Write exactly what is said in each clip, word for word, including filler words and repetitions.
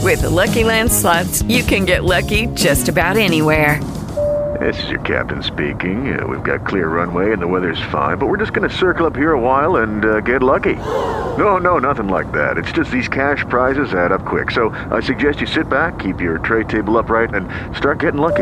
With the Lucky Land Slots, you can get lucky just about anywhere. This is your captain speaking. Uh, we've got clear runway and the weather's fine, but we're just going to circle up here a while and uh, get lucky. No, no, nothing like that. It's just these cash prizes add up quick. So I suggest you sit back, keep your tray table upright, and start getting lucky.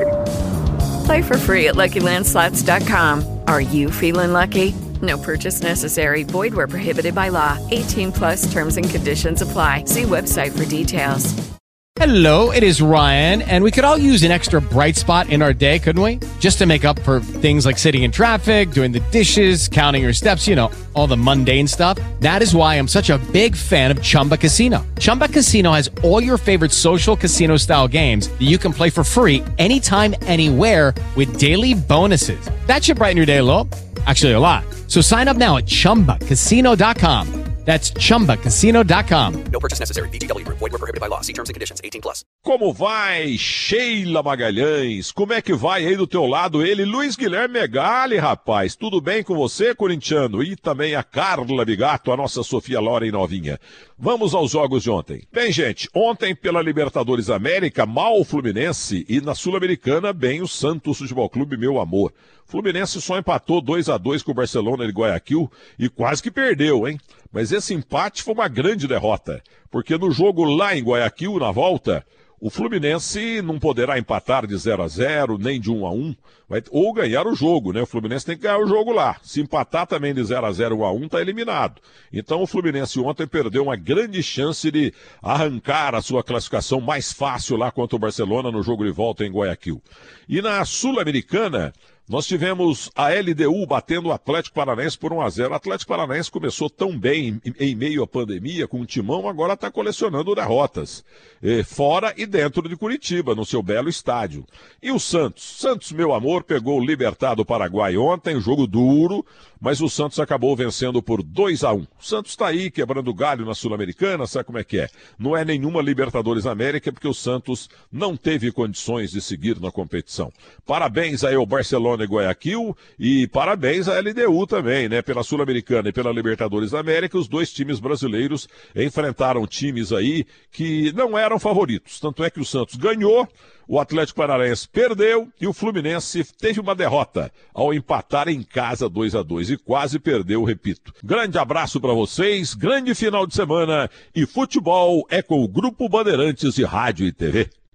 Play for free at Lucky Land Slots dot com. Are you feeling lucky? No purchase necessary. Void where prohibited by law. eighteen plus terms and conditions apply. See website for details. Hello, it is Ryan, and we could all use an extra bright spot in our day, couldn't we? Just to make up for things like sitting in traffic, doing the dishes, counting your steps, you know, all the mundane stuff. That is why I'm such a big fan of Chumba Casino. Chumba Casino has all your favorite social casino-style games that you can play for free anytime, anywhere with daily bonuses. That should brighten your day a little. Actually, a lot. So sign up now at chumba casino dot com. That's chumba casino dot com. No purchase necessary. V G W Group. Void where prohibited by law. See terms and conditions. eighteen plus. Como vai, Sheila Magalhães? Como é que vai aí do teu lado ele? Luiz Guilherme Megali, rapaz. Tudo bem com você, corintiano? E também a Carla Bigato, a nossa Sofia Loren novinha. Vamos aos jogos de ontem. Bem, gente, ontem pela Libertadores América, mal o Fluminense e na Sul-Americana, bem o Santos Futebol Clube, meu amor. Fluminense só empatou dois a dois com o Barcelona de Guayaquil e quase que perdeu, hein? Mas esse empate foi uma grande derrota, porque no jogo lá em Guayaquil, na volta, o Fluminense não poderá empatar de zero a zero, nem de um a um, vai, ou ganhar o jogo, né? O Fluminense tem que ganhar o jogo lá. Se empatar também de zero a zero, um a um, tá eliminado. Então o Fluminense ontem perdeu uma grande chance de arrancar a sua classificação mais fácil lá contra o Barcelona no jogo de volta em Guayaquil. E na Sul-Americana, nós tivemos a L D U batendo o Atlético Paranaense por um a zero. O Atlético Paranaense começou tão bem em, em meio à pandemia, com o timão, agora está colecionando derrotas. Eh, fora e dentro de Curitiba, no seu belo estádio. E o Santos? Santos, meu amor, pegou o Libertad do Paraguai ontem, jogo duro, mas o Santos acabou vencendo por dois a um. O Santos está aí, quebrando galho na Sul-Americana, sabe como é que é? Não é nenhuma Libertadores América, porque o Santos não teve condições de seguir na competição. Parabéns aí ao Barcelona e Guayaquil, e parabéns à L D U também, né? Pela Sul-Americana e pela Libertadores América, os dois times brasileiros enfrentaram times aí que não eram favoritos. Tanto é que o Santos ganhou, o Atlético Paranaense perdeu e o Fluminense teve uma derrota ao empatar em casa dois a dois e quase perdeu, repito. Grande abraço para vocês, grande final de semana e futebol é com o Grupo Bandeirantes de Rádio e T V.